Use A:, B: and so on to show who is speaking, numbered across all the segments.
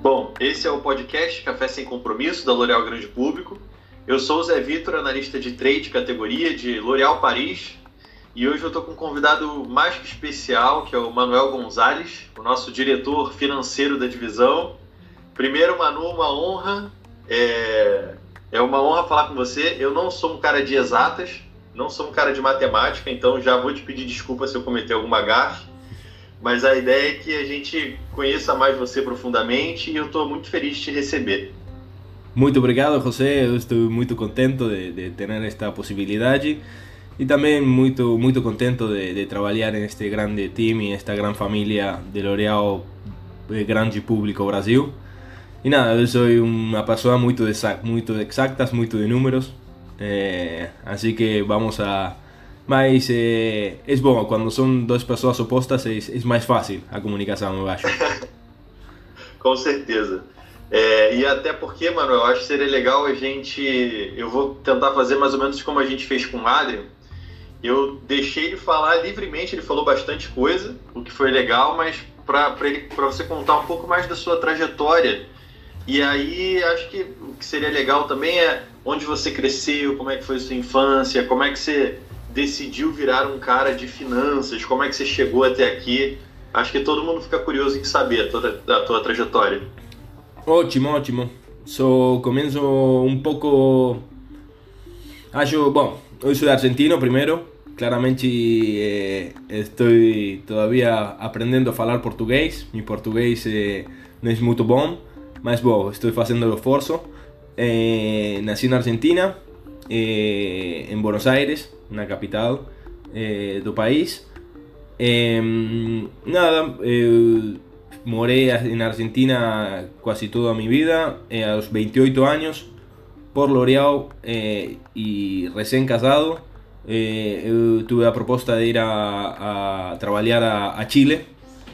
A: Bom, esse é o podcast Café Sem Compromisso, da L'Oréal Grande Público. Eu sou o Zé Vitor, analista de trade categoria de L'Oréal Paris, e hoje eu estou com um convidado mais que especial, que é o Manuel Gonzalez, o nosso diretor financeiro da divisão. Primeiro, Manu, uma honra, é uma honra falar com você. Eu não sou um cara de exatas, não sou um cara de matemática, então já vou te pedir desculpa se eu cometer alguma gafe. Mas a ideia é que a gente conheça mais você profundamente e eu estou muito feliz de te receber.
B: Muito obrigado, José. Eu estou muito contente de ter esta possibilidade e também muito contente de trabalhar neste grande time, esta grande família de L'Oréal Grande Público Brasil. E nada, eu sou uma pessoa muito de exatas, muito de números, assim que vamos a... Mas é bom, quando são duas pessoas opostas é mais fácil a comunicação, eu acho.
A: Com certeza. E até porque, mano, eu acho que seria legal eu vou tentar fazer mais ou menos como a gente fez com o Adrian. Eu deixei ele falar livremente, ele falou bastante coisa, o que foi legal, mas para você contar um pouco mais da sua trajetória. E aí, acho que o que seria legal também é onde você cresceu, como é que foi a sua infância, como é que você decidiu virar um cara de finanças, como é que você chegou até aqui. Acho que todo mundo fica curioso em saber da tua trajetória.
B: Ótimo. Comienzo un poco... yo soy argentino primero. Claramente estoy todavía aprendiendo a hablar portugués. Mi portugués no es muy bom, mas estoy haciendo el esfuerzo. Nací en Argentina, en Buenos Aires, na capital do país. Moré en Argentina casi toda mi vida, a los 28 años, por L'Oréal y recién casado. Tuve la propuesta de ir a trabajar a Chile,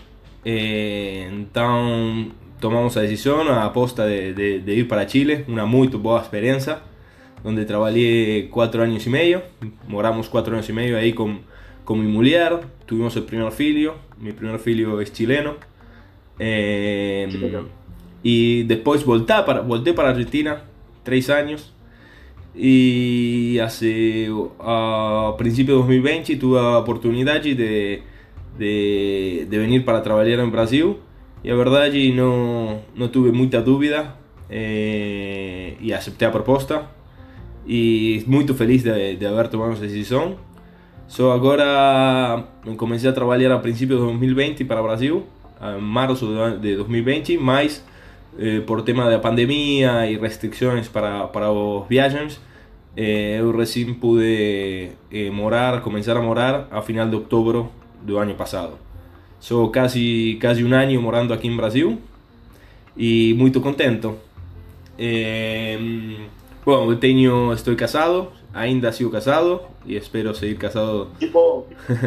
B: entonces tomamos la decisión, a aposta de ir para Chile, una muy buena experiencia, donde trabajé 4 años y medio, moramos 4 años y medio ahí con mi mujer, tuvimos el primer filho, mi primer filho es chileno. Y después volté para Argentina 3 años y a principios de 2020 tuve la oportunidad de venir para trabajar en Brasil y la verdad no tuve mucha duda y acepté la propuesta y muy feliz de haber tomado esa decisión. Ahora comencé a trabajar a principios de 2020 para Brasil, en marzo de 2020, mas por tema de pandemia y restricciones para los viajes, yo recién pude comenzar a morar a final de octubre del año pasado. Casi un año morando aquí en Brasil y muy contento. Estoy casado, ainda sigo casado y espero seguir casado.
A: Tipo.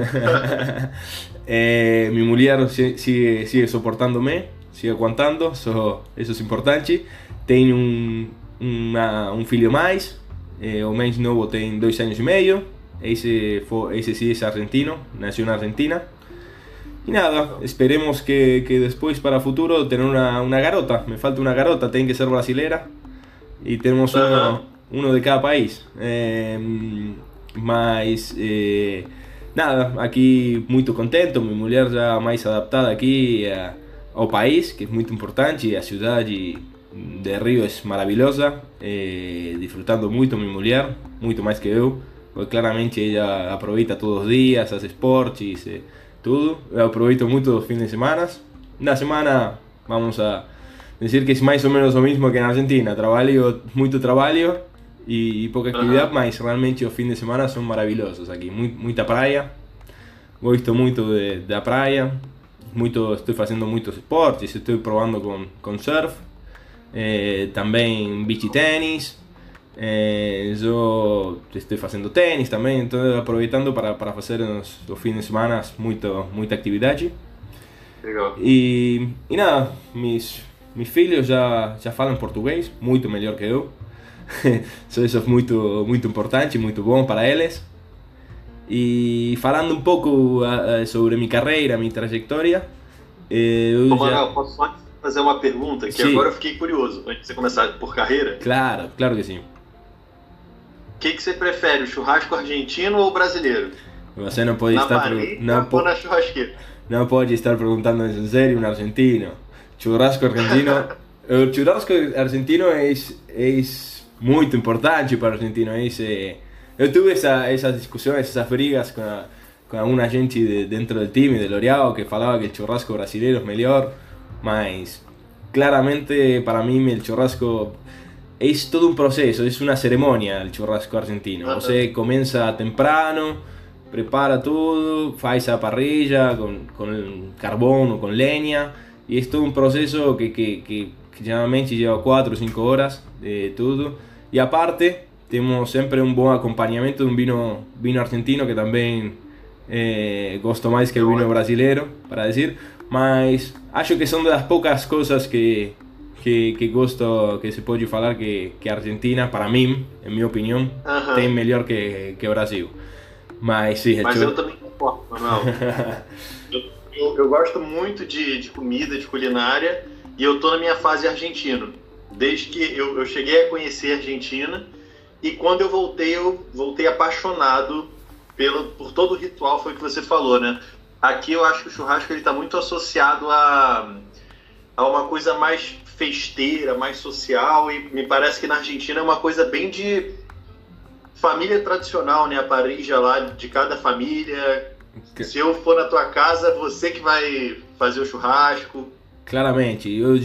B: Mi mujer sigue soportándome, sigue aguantando, eso es importante. Tengo un filho mais, o mais novo tem 2 años y medio. Ese sí es argentino, nació en Argentina. Y nada, esperemos que después para el futuro tener una garota. Me falta una garota, tiene que ser brasilera. Y tenemos uno de cada país. Nada, aquí muy contento. Mi mujer ya más adaptada aquí al país, que es muy importante. Y la ciudad de Río es maravillosa. Disfrutando mucho mi mujer, mucho más que yo. Porque claramente ella aprovecha todos los días, hace sport y todo. Yo aprovecho mucho los fines de semana. Una semana vamos a decir que es más o menos lo mismo que en Argentina. Mucho trabajo y poca actividad, mas realmente los fines de semana son maravillosos aquí. Mucha praia. Gosto mucho de la praia. Estoy haciendo muchos esportes, estoy probando con surf. También beach tenis. Yo estoy haciendo tenis también, entonces aprovechando para hacer los fines de semana mucha actividad.
A: Legal.
B: Y nada, mis filhos já falam português, muito melhor que eu. Isso é muito importante, muito bom para eles. E falando um pouco sobre minha carreira, minha trajetória,
A: Manuel, fazer uma pergunta que
B: Sim.
A: agora eu fiquei curioso, antes de você começar por carreira.
B: Claro, claro que sim.
A: O que você prefere, o churrasco argentino ou brasileiro?
B: Você não pode
A: Na
B: estar
A: parrilla ou na churrasqueira?
B: não pode estar preguntando en serio un argentino. Churrasco argentino. El churrasco argentino es muy importante para o argentino. Eu tuve esas discusiones, esas brigas con alguna gente dentro del time de L'Oreal que falaba que el churrasco brasileiro es mejor, mas claramente para mí el churrasco es todo un proceso, es una ceremonia el churrasco argentino. Você comienza temprano, prepara tudo, faz a parrilla con carbón o con leña, y es todo un proceso que generalmente lleva 4 o 5 horas de tudo. Y aparte, tenemos siempre un buen acompañamiento de un vino argentino que también gosto más que el vino brasileiro, para decir. Mas acho que son de las pocas cosas que gosto que se pode falar que Argentina, para mim, en mi opinión, tem melhor que Brasil. Mas sim,
A: eu também concordo, Manuel. eu gosto muito de comida, de culinária, e eu tô na minha fase argentino. Desde que eu cheguei a conhecer a Argentina, e quando eu voltei apaixonado por todo o ritual, foi o que você falou, né? Aqui eu acho que o churrasco ele tá muito associado a uma coisa mais festeira, mais social, e me parece que na Argentina é uma coisa bem de família tradicional, né? A parrilla lá de cada família. Se eu for na tua casa, você que vai fazer o churrasco.
B: Claramente,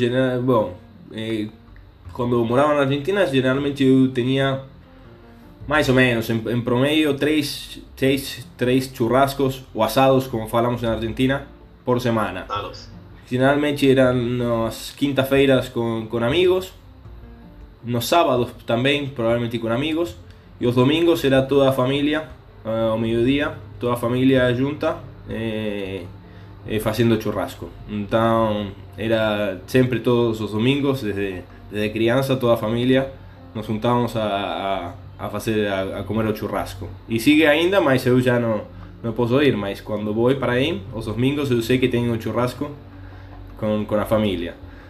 B: quando eu morava na Argentina, geralmente eu tinha mais ou menos, em promedio, três churrascos ou asados, como falamos na Argentina, por semana. Generalmente eran nas quinta-feiras con amigos, nos sábados también, probablemente con amigos, y los domingos era toda a familia, ao mediodía, toda a familia junta, haciendo churrasco. Então, era sempre todos os domingos, desde criança, toda a familia, nos juntávamos a comer o churrasco. E sigue ainda, mas eu já não posso ir, mas quando vou para aí, os domingos eu sei que tenho o churrasco con la familia.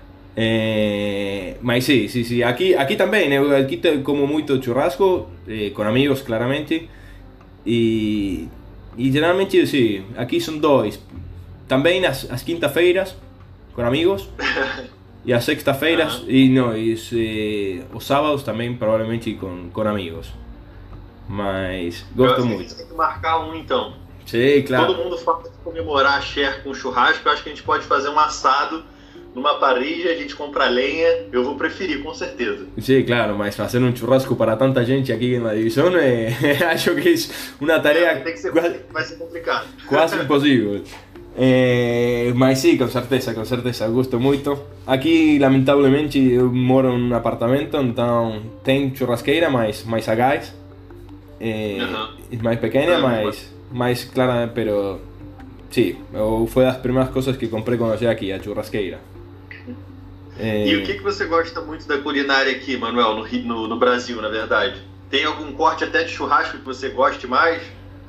B: Mas sí, aquí también, aquí como mucho churrasco, con amigos claramente, y generalmente sí, aquí son dos, también as quinta-feiras con amigos, y as sexta-feiras, os sábados también probablemente con amigos, mas gosto muito.
A: A gente tem que marcar então.
B: Sim, claro.
A: Todo mundo fala de comemorar a Cher com churrasco. Eu acho que a gente pode fazer um assado numa parrilla, a gente compra lenha. Eu vou preferir, com certeza.
B: Sim, claro, mas fazer um churrasco para tanta gente aqui na divisão acho que é uma tarefa
A: vai ser complicado.
B: Quase impossível. Mas sim, com certeza, gosto muito. Aqui, lamentavelmente, eu moro em um apartamento, então tem churrasqueira, mas a gás. É mais pequena, mas claro, pero sí, fue das primeiras coisas que comprei quando cheguei aqui, a churrasqueira.
A: E o que você gosta muito da culinária aqui, Manuel, no Brasil, na verdade? Tem algum corte até de churrasco que você goste mais?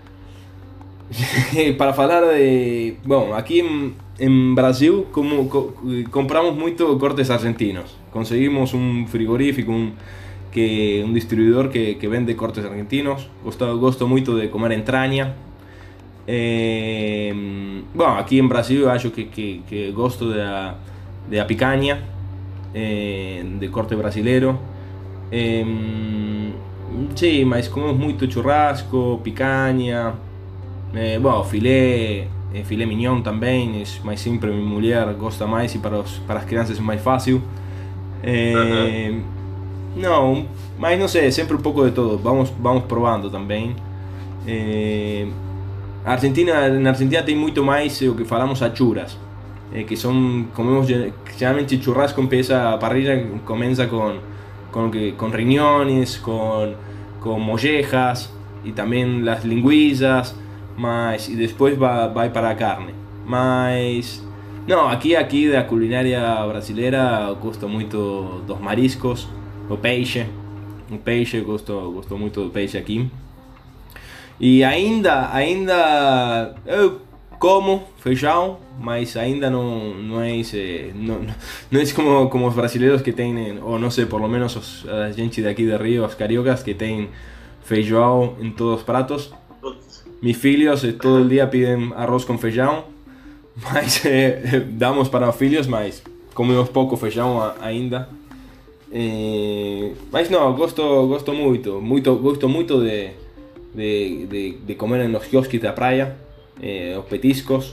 B: Para falar de... Bom, aqui em Brasil compramos muito cortes argentinos. Conseguimos um frigorífico, um distribuidor que vende cortes argentinos. Gosto muito de comer entraña. Bueno, aquí en Brasil yo acho que gosto de a picanha, de corte brasileiro. Sí, mas comemos muito churrasco, picanha, bueno, filé mignon também, mas sempre minha mulher gosta mais e para as crianças é mais fácil. Não, mas não sei, sempre um pouco de todo, vamos provando também. Na Argentina tem muito mais o que falamos achuras, que são, comemos geralmente churrasco, a parrilla começa com riñones, com mollejas e também as linguiças, e depois vai para a carne. Mas não, aqui da culinária brasileira gosto muito dos mariscos, o peixe, gosto muito do peixe aqui. E ainda eu como feijão, mas ainda não é não es como os brasileiros que têm, ou não sei, por lo menos a gente daqui de Rio, os cariocas, que tem feijão em todos os pratos. Mis filhos todo el dia pedem arroz com feijão, mas damos para os filhos, mas comemos pouco feijão ainda. Mas não, gosto muito de comer en los quiosques de la playa, los petiscos.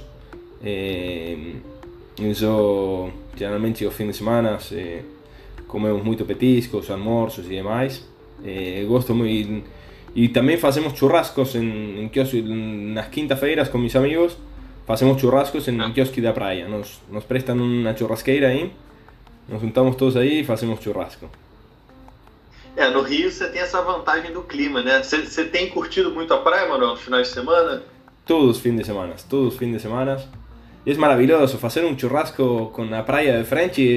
B: Eso, generalmente los fines de semana comemos muito petiscos, almorzos y demás. Gosto muy. Y también hacemos churrascos en las quintas-feiras con mis amigos. Hacemos churrascos en el quiosque de la playa. Nos prestan una churrasqueira ahí. Nos juntamos todos aí e fazemos churrasco.
A: No Rio você tem essa vantagem do clima, né? Você tem curtido muito a praia, Manuel, nos finais de semana?
B: Todos os fins de semana. E é maravilhoso. Fazer um churrasco com a praia de frente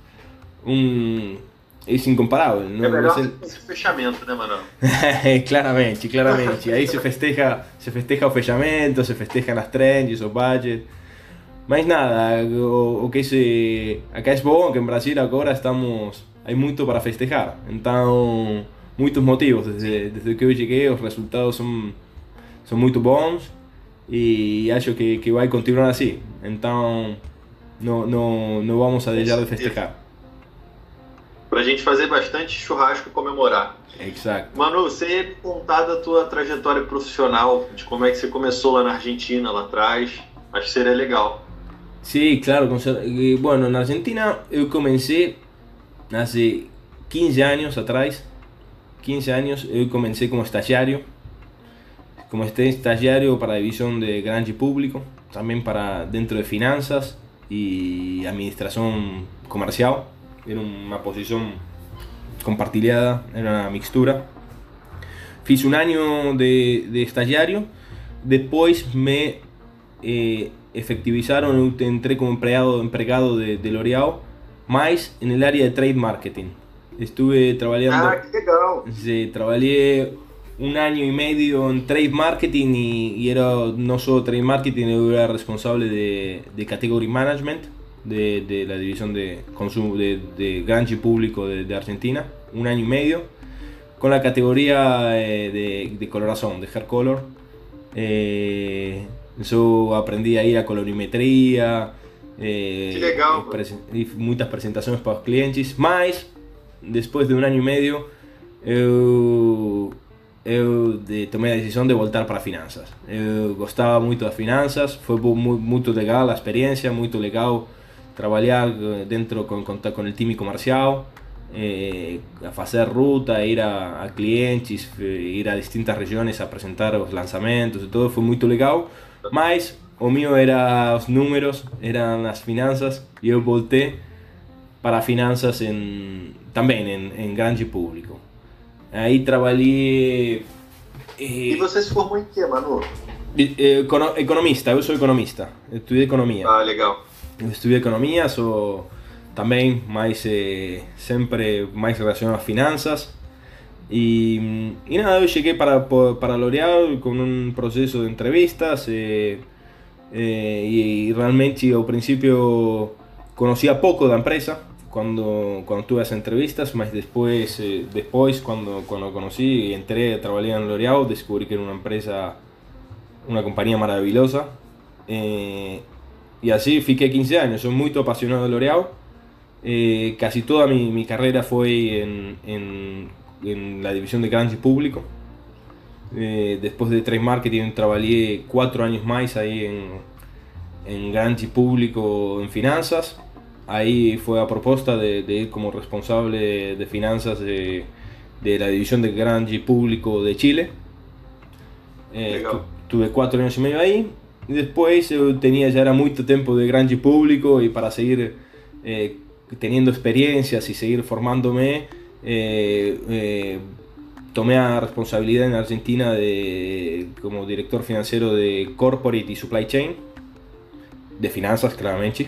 B: é incomparável.
A: É melhor que esse fechamento, né, Manuel?
B: Claramente. Aí se festeja o fechamento, se festejam as trends, os budgets. Mas nada, acá é bom que em Brasil agora há muito para festejar, então muitos motivos, desde que eu cheguei os resultados são muito bons e acho que vai continuar assim, então não vamos a deixar de festejar.
A: Pra gente fazer bastante churrasco e comemorar.
B: Exato.
A: Manu, você ia me contar da tua trajetória profissional, de como é que você começou lá na Argentina, lá atrás, acho que seria legal.
B: Sí, claro. Bueno, en Argentina yo comencé hace 15 años atrás. 15 años yo comencé como estagiario. Como estagiario para la división de grande público. También para dentro de finanzas y administración comercial. Era una posición compartida, era una mixtura. Fiz un año de estagiario. Después me... efectivizaron, entré como empregado de L'Oréal, más en el área de trade marketing. Estuve trabajando.
A: Ah, que legal!
B: Sí, trabajé un año y medio en trade marketing y era no solo trade marketing, era responsable de category management de la división de consumo de grande público de Argentina, un año y medio, con la categoría de coloración, de hair color. Yo aprendí ahí a colorimetría, y muchas presentaciones para los clientes, mas después de un año y medio tomé la decisión de voltar para finanzas. Eu gostava muito das finanças, foi muito legal a experiência, muito legal trabalhar dentro con el time comercial, a fazer ruta, ir a clientes, ir a distintas regiões a apresentar os lançamentos e tudo, foi muito legal. Mas o mío era os números, eran as finanças, e eu voltei para finanças também em grande público. Aí trabalhei...
A: E você se formou em quê, Manu?
B: Economista, eu sou economista, estudei economia.
A: Ah, legal.
B: Eu estudei economia, sou também sempre mais relacionado às finanças. Y nada, yo llegué para L'Oréal con un proceso de entrevistas y realmente al principio conocía poco de la empresa cuando tuve esas entrevistas, pero después cuando conocí y entré a trabajar en L'Oréal, descubrí que era una empresa, una compañía maravillosa, y así fiqué 15 años. Soy muy apasionado de L'Oréal. Casi toda mi carrera fue en la división de grande público. Después de trade marketing trabajé 4 años más ahí en grande público en finanzas. Ahí fue a propuesta de ir como responsable de finanzas de la división de grande público de Chile. Tuve 4 años y medio ahí. Y después ya era mucho tiempo de grande público y para seguir teniendo experiencias y seguir formándome, tomé la responsabilidad en Argentina como director financiero de Corporate y Supply Chain, de finanzas claramente.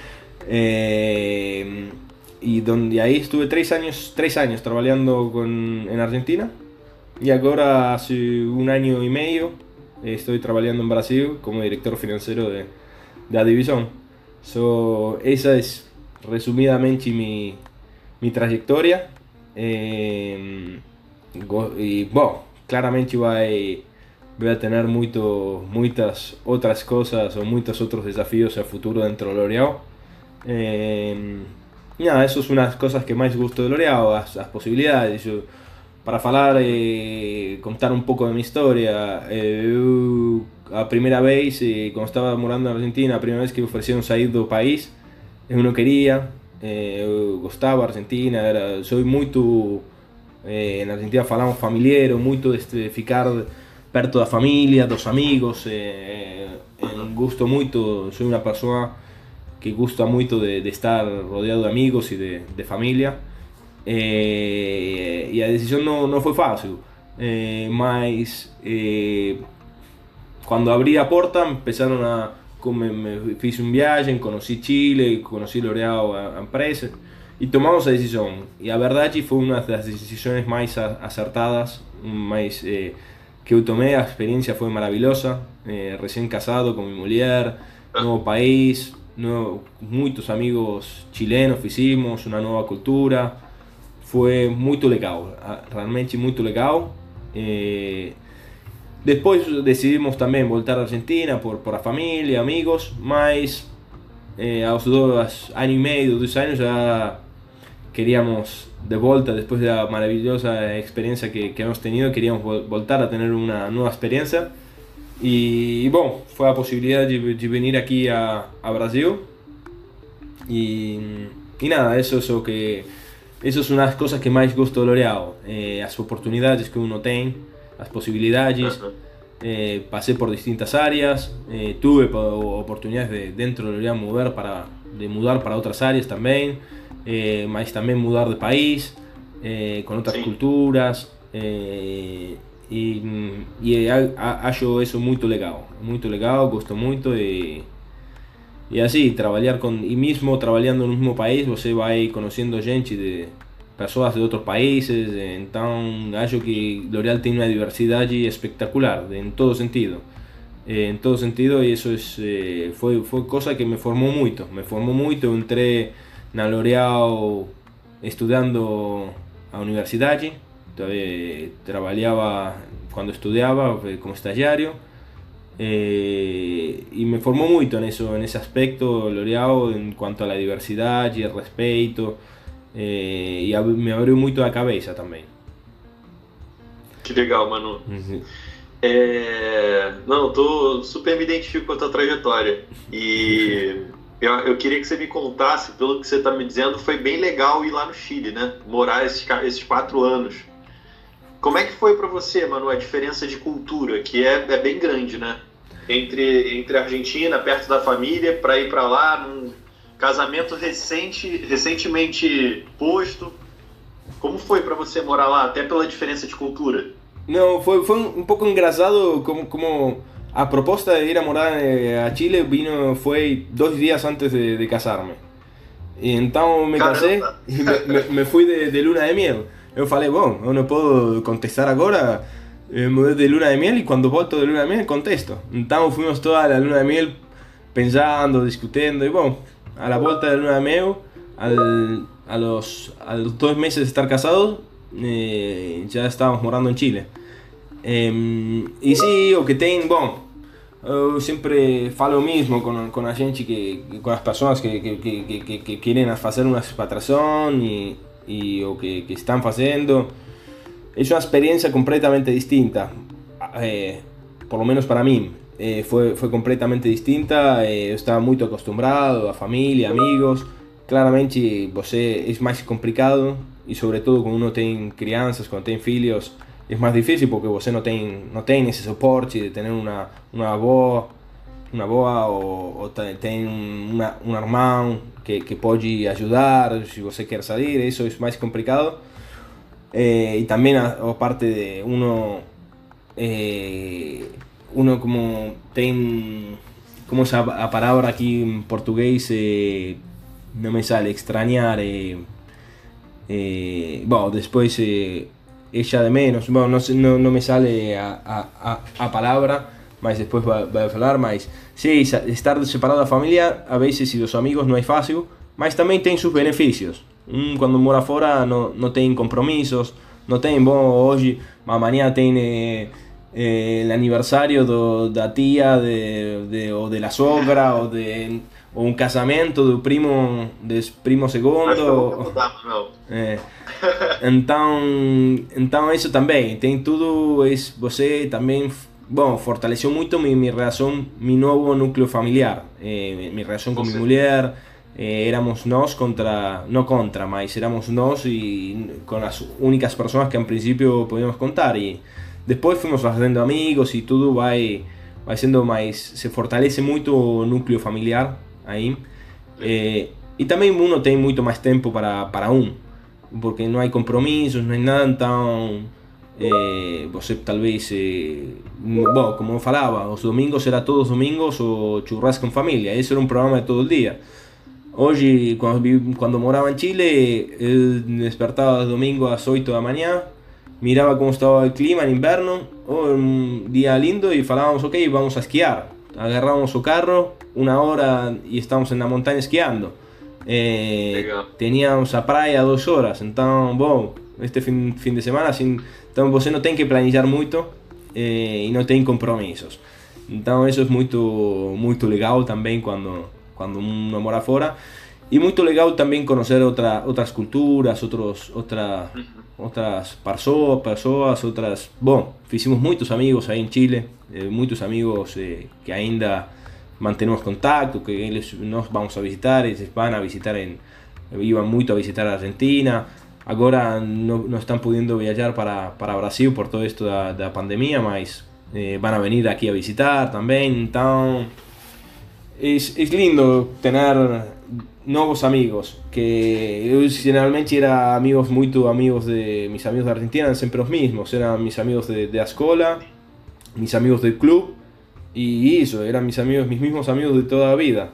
B: Y ahí estuve 3 años trabajando en Argentina, y ahora hace 1 año y medio estoy trabajando en Brasil como director financiero de la división. Esa es resumidamente mi trayectoria. Y bueno, claramente voy a tener muchas otras cosas o muchos otros desafíos a futuro dentro de L'Oréal. Nada, eso es unas cosas que más gusto de L'Oréal, las posibilidades. Para falar, contar un poco de mi historia, a primera vez, cuando estaba morando en Argentina, a primera vez que me ofrecieron salir del país, yo no quería, gostava Argentina, soy muy en Argentina falamos familiar, muy de ficar perto da familia, dos amigos, gusto mucho, soy una persona que gusta mucho de estar rodeado de amigos y de familia. E a decisão não foi fácil, mas quando abri a porta empezaram fiz uma viagem, conheci Chile, conheci L'Oréal, a empresa, e tomamos a decisão. E a verdade foi uma das decisões mais acertadas, mais que eu tomei. A experiência foi maravilhosa, recém-casado com minha mulher, novo país, muitos amigos chilenos fizemos, uma nova cultura. Foi muito legal, realmente muito legal. Depois decidimos também voltar à Argentina por a família, amigos, mas aos 2 anos e meio, 2 anos já queríamos de volta, depois da maravilhosa experiência que hemos tenido, queríamos voltar a ter uma nova experiência. E bom, foi a possibilidade de vir aqui a Brasil. E nada, isso é o que... Essas são as coisas que mais gosto do L'Oréal, as oportunidades que uno tem, as possibilidades. Passei por distintas áreas, tuve oportunidades de dentro do L'Oréal mudar para outras áreas também, mas também mudar de país, com outras culturas, e acho isso muito legal, gosto muito. E assim, e mesmo trabalhando no mesmo país, você vai conhecendo gente de pessoas de outros países. Então acho que L'Oréal tem uma diversidade espetacular em todo sentido, e isso foi coisa que me formou muito. Eu entrei na L'Oréal estudando a universidade, trabalhava quando estudava como estagiário. Y me formó mucho en ese aspecto L'Oréal en cuanto a la diversidad y el respeto, y me abriu muito a cabeça também.
A: Que legal, Manu. Não, super me identifico com a tua trajetória, e eu queria que você me contasse, pelo que você está me dizendo, foi bem legal ir lá no Chile, né? Morar esses 4 anos. Como é que foi para você, Manu, a diferença de cultura, que é bem grande, né? Entre a Argentina, perto da família, para ir para lá, num casamento recentemente posto. Como foi para você morar lá, até pela diferença de cultura?
B: Não, foi um pouco engraçado como a proposta de ir a morar a Chile foi 2 dias antes de casar-me. E então me casei e me fui de luna de miel. Eu falei, bom, eu não posso contestar agora, mudei de luna de miel e quando volto de luna de miel contesto. Então fomos toda a luna de miel pensando, discutindo, e bom, a la volta de luna de miel, a los 2 meses de estar casados, já estávamos morando em Chile. E sim, o que tem, bom, eu sempre falo o mesmo com a gente, com as pessoas que querem fazer uma expatriação y o que están haciendo. Es una experiencia completamente distinta, por lo menos para mí. Fue completamente distinta. Eu estaba muy acostumbrado a familia, amigos. Claramente es más complicado, y sobre todo cuando uno tiene crianças, cuando tiene filhos, es más difícil porque você no tiene ese soporte de tener una avó, o tem um irmão que pode ajudar se você quer sair. Isso é mais complicado, e também a parte de uno como tem, como a palavra aqui em português não me sale, extrañar, bom, depois echa de menos, bom, não me sale a palavra, mas depois vai falar, mas sim, estar separado da família, a vezes, e dos amigos não é fácil, mas também tem seus benefícios. Quando mora fora não tem compromissos, não tem, bom, hoje, amanhã tem o aniversário da tia, ou da sogra, ou um casamento do primo segundo. Então isso também, tem tudo, você também, bom, fortaleceu muito minha relação, meu novo núcleo familiar, minha relação com minha mulher. Éramos nós mas éramos nós y con las únicas personas que en principio podíamos contar, y después fuimos haciendo amigos y todo va siendo más, se fortalece mucho el núcleo familiar ahí, y también uno tiene mucho más tiempo para porque no hay compromisos, no hay nada, então você talvez, bom, como eu falava, os domingos era todos domingos o churrasco en familia, ese era un programa de todo el día. Hoje, quando morava em Chile, eu despertava domingo às 8 da manhã, mirava como estava o clima no inverno, um dia lindo, e falávamos, ok, vamos a esquiar. Agarrávamos o carro, uma hora, e estávamos na montanha esquiando. Teníamos a praia 2 horas, então, bom, este fim de semana, assim, então você não tem que planejar muito e não tem compromissos. Então, isso é muito legal também quando uno mora fora, y muy legal también conocer otras culturas, otras personas, bueno, hicimos muchos amigos ahí en Chile, muchos amigos que ainda mantenemos contacto, que nos vamos a visitar, ellos van a visitar, iban mucho a visitar a Argentina, ahora no están pudiendo viajar para Brasil por todo esto de la pandemia, mas van a venir aquí a visitar también, entonces es lindo tener nuevos amigos, que yo generalmente era amigos de mis amigos de Argentina, siempre los mismos, eran mis amigos de la escuela, mis amigos del club, y eso, eran mis mismos amigos de toda la vida.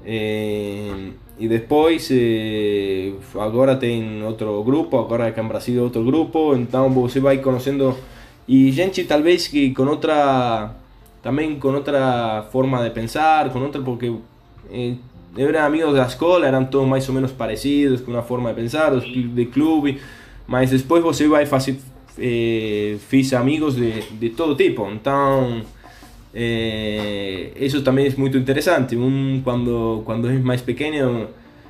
B: Y después, ahora tengo otro grupo, ahora acá en Brasil otro grupo, entonces você va conociendo, y gente tal vez que también con otra forma de pensar, porque eran amigos de la escuela, eran todos más o menos parecidos, con una forma de pensar, de club, mas después você vai fiz amigos de todo tipo, entonces eso también es muy interesante. Cuando es más pequeño,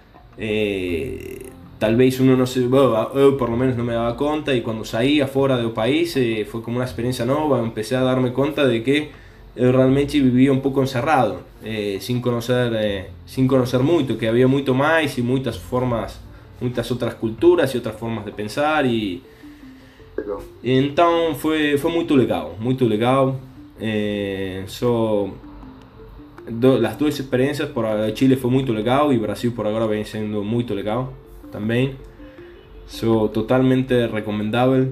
B: tal vez uno no se, bueno, yo por lo menos no me daba cuenta, y cuando salí afuera del país fue como una experiencia nueva, empecé a darme cuenta de que yo realmente vivía un poco encerrado, sin conocer mucho, que había mucho más y muchas otras culturas y otras formas de pensar, y entonces fue muy legal. Las dos experiencias, por Chile fue muy legal y Brasil por ahora viene siendo muy legal también. Totalmente recomendable,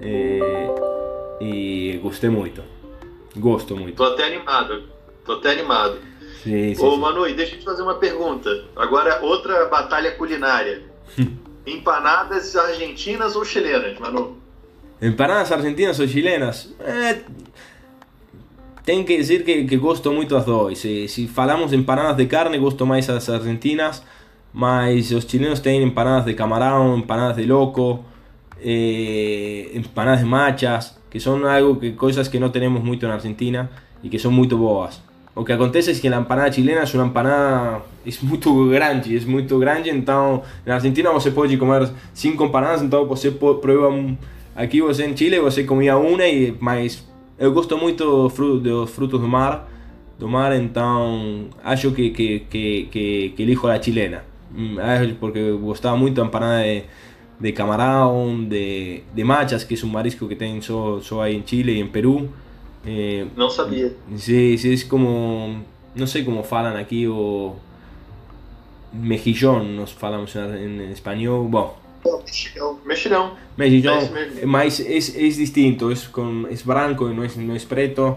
B: y gosté mucho. Gosto muito.
A: Tô até animado.
B: Sim.
A: Ô, Manu, deixa eu te fazer uma pergunta. Agora, outra batalha culinária. Empanadas argentinas ou chilenas, Manu?
B: Empanadas argentinas ou chilenas? Tenho que dizer que gosto muito das duas. Se falamos de empanadas de carne, gosto mais as argentinas, mas os chilenos têm empanadas de camarão, empanadas de loco, empanadas de machas, que son cosas que no tenemos mucho en Argentina y que son muy boas. Lo que acontece es que la empanada chilena es una empanada, es muy grande, entonces en Argentina você puede comer 5 empanadas, entonces você prueba, aquí você en Chile você comía una, mas eu gosto muito dos frutos do mar, entonces acho que elijo la chilena, porque gostava muito da empanada de camarón, de machas, que es un marisco que tienen solo ahí en Chile y en Perú.
A: No sabía.
B: Sí, es como, no sé cómo falan aquí, o mejillón, nos falamos en español. Bueno,
A: mexilhão.
B: Mas es distinto, es branco y no es preto,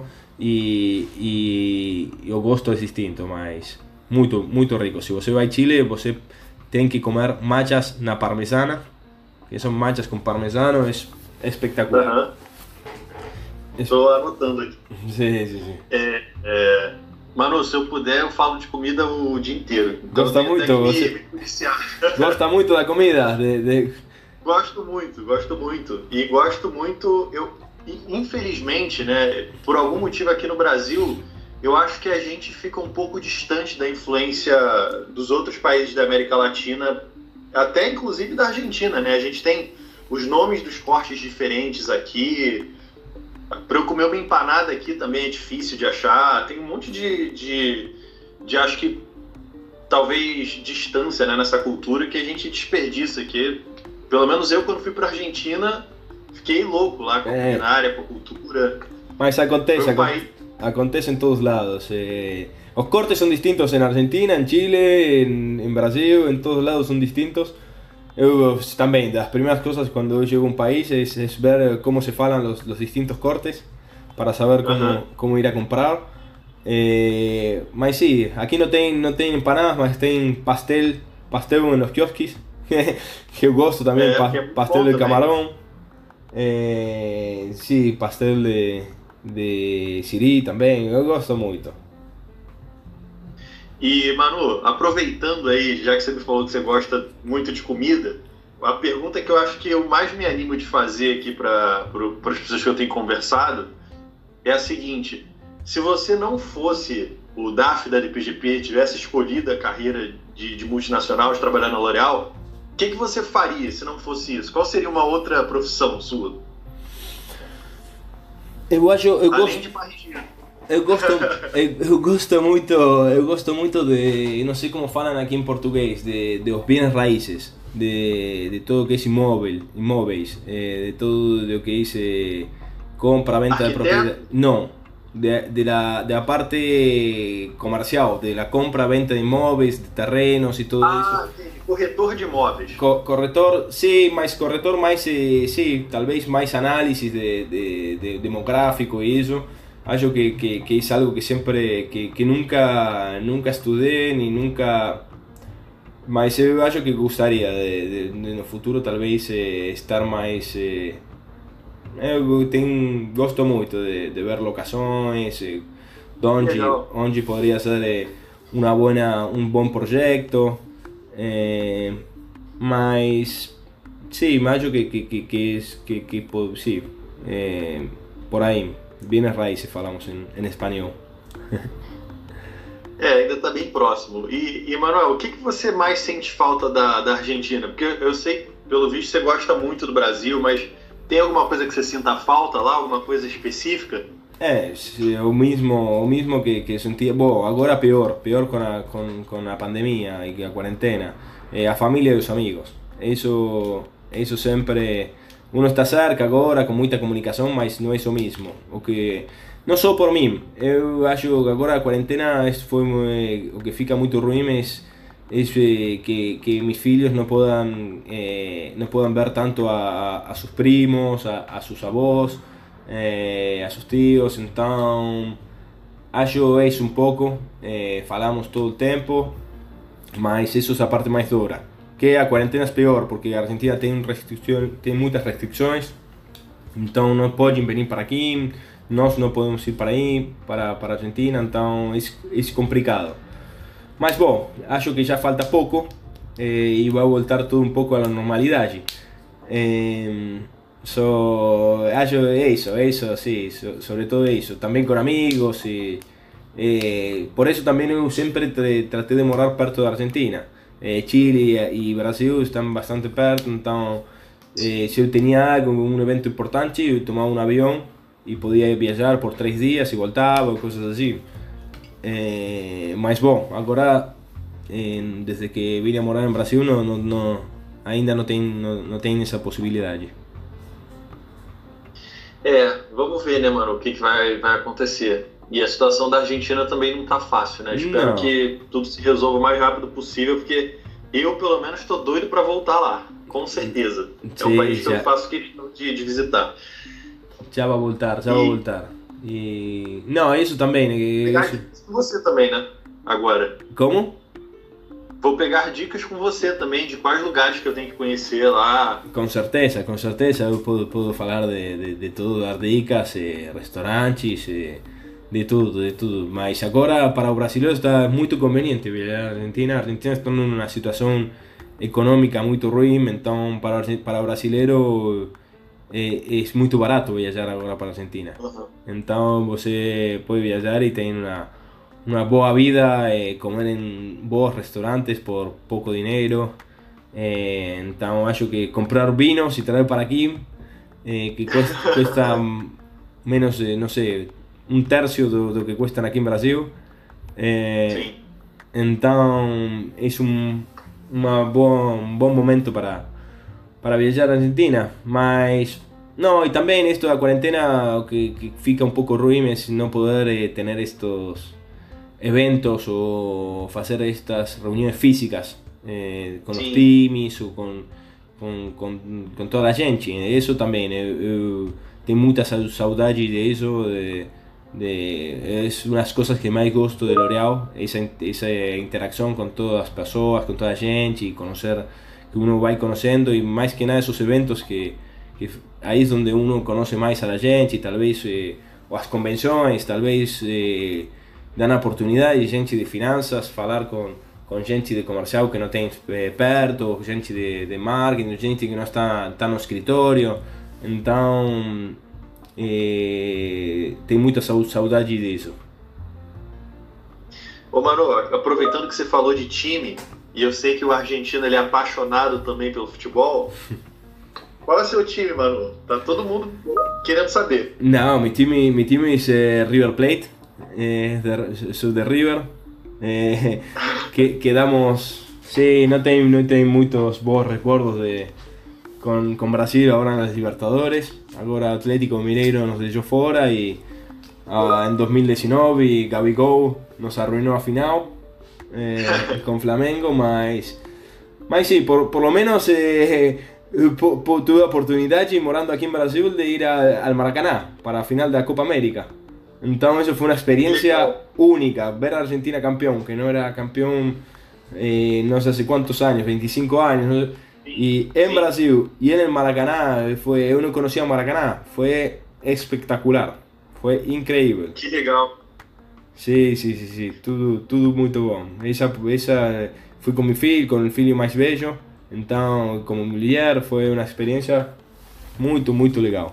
B: y o gosto es distinto, mas muy rico. Si você vai a Chile, você tem que comer machas na parmesana, que son machas con parmesano, es espectacular.
A: Estou anotando aqui.
B: Sí, sí, sí.
A: Manu, se eu puder, eu falo de comida o dia inteiro. Então
B: Gosta
A: eu tenho
B: muito,
A: até que
B: você-
A: me policiar.
B: Gosta muito da comida?
A: Gosto muito, gosto muito. E gosto muito, infelizmente, né, por algum motivo aqui no Brasil, eu acho que a gente fica um pouco distante da influência dos outros países da América Latina, até inclusive da Argentina, né? A gente tem os nomes dos cortes diferentes aqui. Para eu comer uma empanada aqui também é difícil de achar. Tem um monte de acho que talvez distância, né, nessa cultura que a gente desperdiça aqui. Pelo menos eu, quando fui para Argentina, fiquei louco lá com a culinária, com a cultura.
B: Mas acontece,
A: Foi um país...
B: acontece en todos lados. Los cortes son distintos en Argentina, en Chile, en Brasil, en todos lados son distintos. Eu também, das primeiras coisas quando eu chego a um país é ver como se falam os distintos cortes para saber como ir a comprar. Mas sim, aqui não tem empanadas, mas tem pastel nos quiosques, que eu gosto também, pastel de camarão. Sim, pastel de siri também, eu gosto muito.
A: E, Manu, aproveitando aí, já que você me falou que você gosta muito de comida, a pergunta que eu acho que eu mais me animo de fazer aqui para as pessoas que eu tenho conversado é a seguinte: se você não fosse o DAF da LPGP, tivesse escolhido a carreira de multinacional, de trabalhar na L'Oréal, o que você faria se não fosse isso? Qual seria uma outra profissão sua? Além de parrigir.
B: Eu gosto muito de, não sei como falam aqui em português, de os bienes raíces, de todo o que é imóveis, de todo o que é compra, venta de propriedade. Não, de la parte comercial, de la compra, venta de imóveis, de terrenos e tudo isso.
A: Entendi. Corretor de imóveis.
B: Corretor, sim, mas corretor mais, sim, talvez mais análise de demográfico e isso. Acho que es algo que siempre, que nunca estudé ni nunca, mas eu acho que gostaria de no futuro talvez estar mais, gosto muito de ver locações, onde poderia ser um bom projeto, mas sim, acho que sim, por aí. Bienes raíces falamos em espanhol.
A: Ainda está bem próximo. E Manuel, o que você mais sente falta da Argentina? Porque eu sei, pelo visto, você gosta muito do Brasil, mas tem alguma coisa que você sinta falta lá? Alguma coisa específica?
B: O mismo que sentia. Bom, agora pior com a pandemia e a quarentena. A família e os amigos. Isso sempre. Uno está cerca agora, com muita comunicação, mas não é o mesmo. O que, não só por mim, eu acho que agora a quarentena foi o que fica muito ruim, é que meus filhos não podem ver tanto a seus primos, a seus avós, a seus tios, então acho isso um pouco, falamos todo o tempo, mas isso é a parte mais dura. Que a quarentena é pior, porque a Argentina tem muitas restrições, então não podem vir para aqui, nós não podemos ir para aí, para a Argentina, então é complicado. Mas bom, acho que já falta pouco e vai voltar tudo um pouco à normalidade. Acho isso, sim, sobretudo isso, também com amigos, por isso também eu sempre tratei de morar perto da Argentina. Chile e Brasil estão bastante perto, então se eu tinha algo, um evento importante, eu tomava um avião e podia viajar por 3 dias e voltava, coisas assim. Mas bom, agora desde que vim a morar em Brasil ainda não tem essa possibilidade.
A: Vamos ver, né, mano, o que vai acontecer. E a situação da Argentina também não tá fácil, né? Espero que tudo se resolva o mais rápido possível, porque eu, pelo menos, tô doido para voltar lá, com certeza. É um país que eu faço questão de visitar.
B: Já vai voltar. E... Não, isso também, né?
A: Você também, né? Agora.
B: Como?
A: vou pegar dicas com você também de quais lugares que eu tenho que conhecer lá.
B: Com certeza, eu posso falar de tudo, dar dicas, restaurantes, de tudo. Mas agora para o brasileiro está muito conveniente viajar à Argentina. A Argentina está numa situação econômica muito ruim, então para o brasileiro é muito barato viajar agora para a Argentina. Então você pode viajar e tem uma boa vida, comer em bons restaurantes por pouco dinheiro. Então acho que comprar vinos e trazer para aqui, que custa menos, não sei, um terço do que cuestan aqui em Brasil. Então é um bom momento para viajar à Argentina. Mas não, e também esto da quarentena que fica um pouco ruim é não poder ter estos eventos o hacer estas reuniones físicas con los times o con toda a gente. Eso también, tenho muita saudade de eso, es unas cosas que más gosto de L'Oréal, esa interacción con todas las personas, con toda a gente, y conocer, que uno va conociendo, y más que nada esos eventos que ahí es donde uno conoce más a la gente, y tal vez o las convenciones, tal vez dan a oportunidade de gente de finanças falar com gente de comercial que não tem perto, gente de marketing, gente que não está no escritório. Então tem muita saudade disso.
A: Ô Manu, aproveitando que você falou de time, e eu sei que o argentino ele é apaixonado também pelo futebol, qual é o seu time, Manu? Tá todo mundo querendo saber.
B: Não, meu time é River Plate. Soy de River, quedamos, sí, no tengo muchos buenos recuerdos con Brasil ahora en las Libertadores. Ahora Atlético Mineiro nos dejó fuera y en 2019 Gabigol nos arruinó a final con Flamengo, mas sí, por lo menos tuve oportunidad, morando aquí en Brasil, de ir al Maracaná para la final de la Copa América. Entonces eso fue una experiencia única, ver a Argentina campeón, que no era campeón no sé hace cuántos años, 25 años, ¿no? Y en Brasil y en el Maracaná, uno conocía a Maracaná, fue espectacular, fue increíble.
A: Que legal.
B: Sí, tudo muito bom. Esa fui con mi filho, con el filho mais velho, então como mulher foi uma experiência muito legal.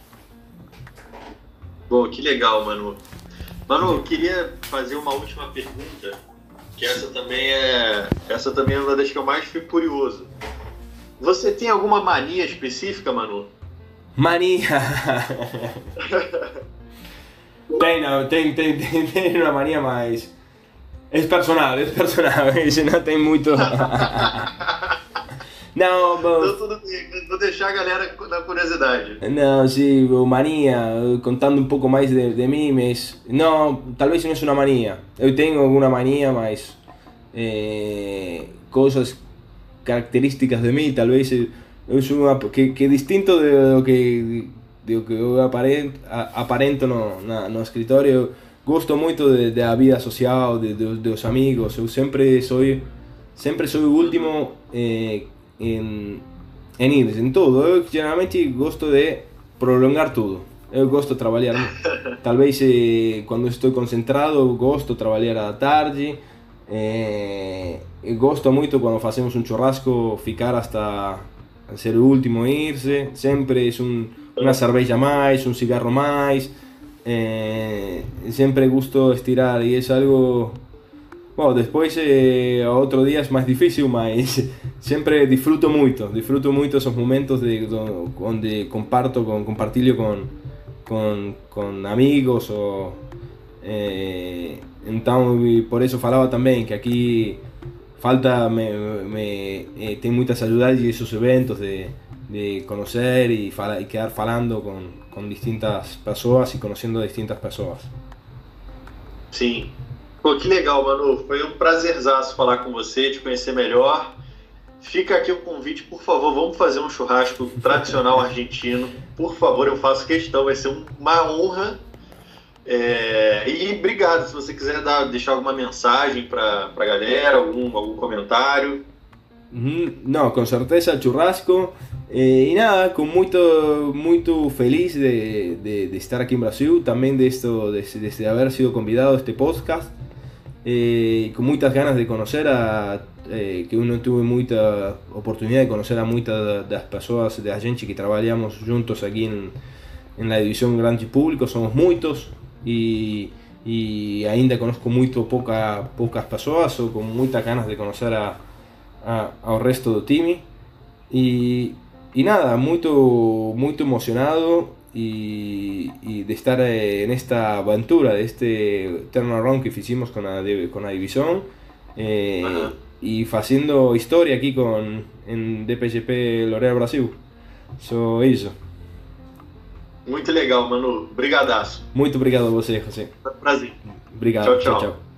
A: Bom, que legal, Manu. Manu, eu queria fazer uma última pergunta, que essa também é uma das que eu mais fico curioso. Você tem alguma mania específica, Manu?
B: Mania? Tem uma mania, mas é personal, não tem muito... Não,
A: então tudo bem, vou deixar a galera na curiosidade.
B: Não, sim, mania, contando um pouco mais de mim, mas não, talvez não é uma mania. Eu tenho alguma mania, mas coisas características de mim, talvez eu sou que é distinto do que eu aparento no escritório. Eu gosto muito da vida social, dos amigos. Eu sempre sou o último em ir, em tudo. Eu geralmente gosto de prolongar tudo. Eu gosto de trabalhar, talvez quando estou concentrado, eu gosto de trabalhar à tarde. Eu gosto muito quando fazemos um churrasco, ficar hasta ser o último a irse. Sempre é uma cerveja a mais, um cigarro a mais. Sempre gosto de estirar e é algo... Bom, depois outro dia é mais difícil, mas sempre disfruto muito esses momentos onde compartilho com amigos. Então, por isso falava também que aqui tem muita saudade desses eventos de conhecer e quedar falando com distintas pessoas e conhecendo distintas pessoas.
A: Sim. Pô, que legal, Manu. Foi um prazerzaço falar com você, te conhecer melhor. Fica aqui o convite, por favor, vamos fazer um churrasco tradicional argentino. Por favor, eu faço questão, vai ser uma honra. E obrigado, se você quiser deixar alguma mensagem para a galera, algum comentário.
B: No, con certeza churrasco. Y nada, con muy feliz de estar aquí en Brasil, también de esto, de haber sido convidado a este podcast. Con muchas ganas de conocer que uno tuve mucha oportunidad de conocer a muchas de las personas de la gente que trabajamos juntos aquí en la división Grande Público, somos muchos y ainda conozco pocas personas o con muchas ganas de conocer ao resto do time y nada, muy emocionado y de estar en esta aventura, de este turnaround que hicimos con la división y haciendo historia aquí en DPGP L'Oréal Brasil. Isso.
A: Muito legal, Manu. Brigadaço.
B: Muito obrigado a você, José.
A: Foi um prazer.
B: Obrigado.
A: Tchau, tchau.